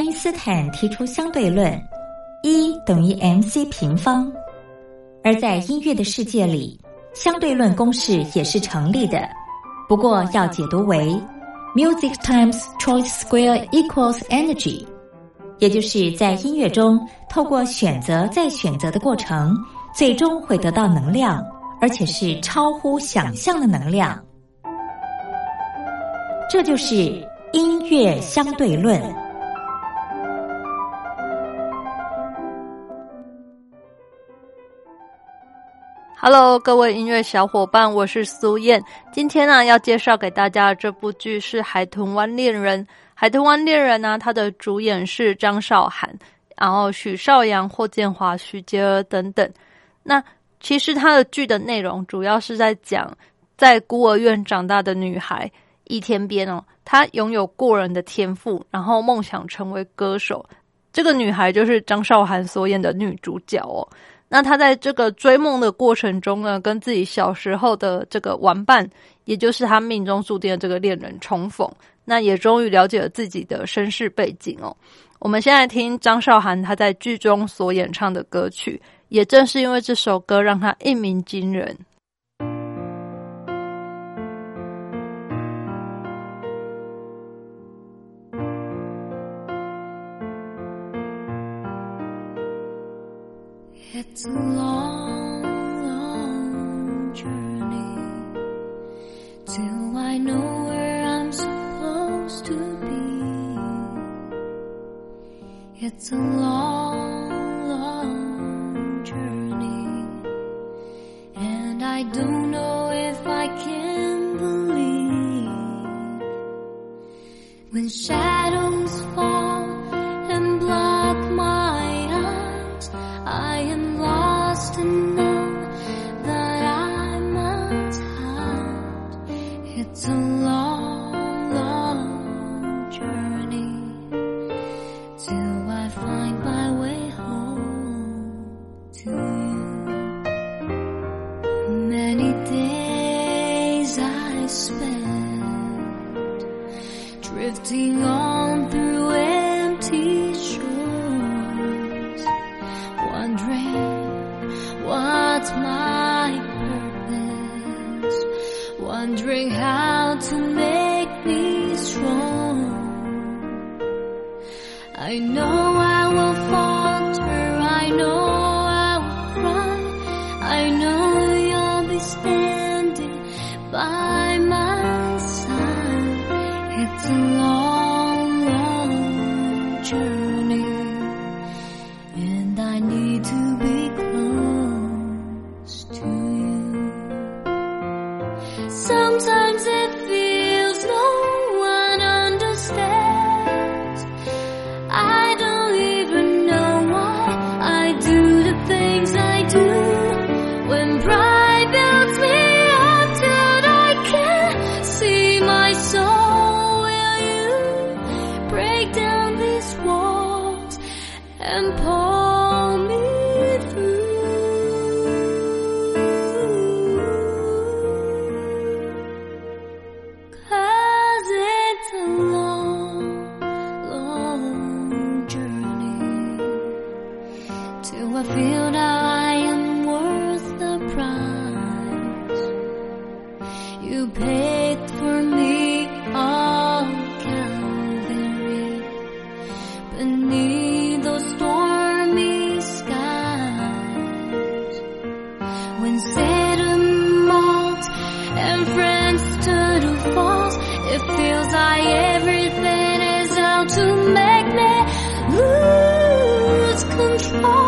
因斯坦提出相对论，E等于 mc 平方。而在音乐的世界里，相对论公式也是成立的，不过要解读为 music times choice square equals energy， 也就是在音乐中透过选择再选择的过程，最终会得到能量，而且是超乎想象的能量。这就是音乐相对论。 Hello， 各位音乐小伙伴，我是苏燕。今天呢，要介绍给大家的这部剧是《海豚湾恋人》。《海豚湾恋人》呢，它的主演是张韶涵，然后许绍洋、霍建华、许洁儿等等。那其实它的剧的内容主要是在讲，在孤儿院长大的女孩易天边哦，她拥有过人的天赋，然后梦想成为歌手。这个女孩就是张韶涵所演的女主角哦。那他在这个追梦的过程中呢，跟自己小时候的这个玩伴，也就是他命中注定的这个恋人重逢，那也终于了解了自己的身世背景哦。我们现在听张韶涵她在剧中所演唱的歌曲，也正是因为这首歌让她一鸣惊人。 It's a long, long journey till I know where I'm supposed to be. It's a long, long journey, and I don't know if I can believe when shadows fall and block my eyes. I am lost and know that I must hide. It's a long, long journey till I find my way home to you. Many days I spent drifting on through empty shores, wondering what's my purpose, wondering how to make me strong. I know I will falter, I know I will cry, I know you'll be standing by my side. It's a long, long journey, and I need to be close to you. Sometimes it feels no one understands. I don't even know why I do the things I do. When pride builds me up till I can't see my soul, will you break down these walls and pull me through? 'Cause it's a long, long journey till I feel now I am worth the price you paid for me on Calvary. Beneath those stormy skies, when Satan mocks and friends turn to false, it feels like everything is out to make me lose control.